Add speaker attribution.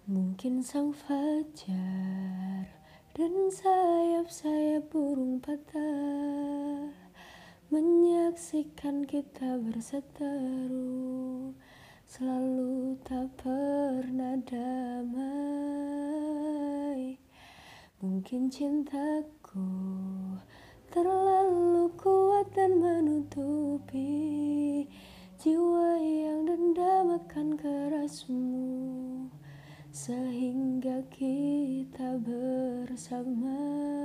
Speaker 1: Mungkin sang fajar dan sayap-sayap burung patah menyaksikan kita berseteru, selalu tak pernah damai. Mungkin cintaku terlalu kuat dan menutupi jiwa yang dendam akan kerasmu, sehingga kita bersama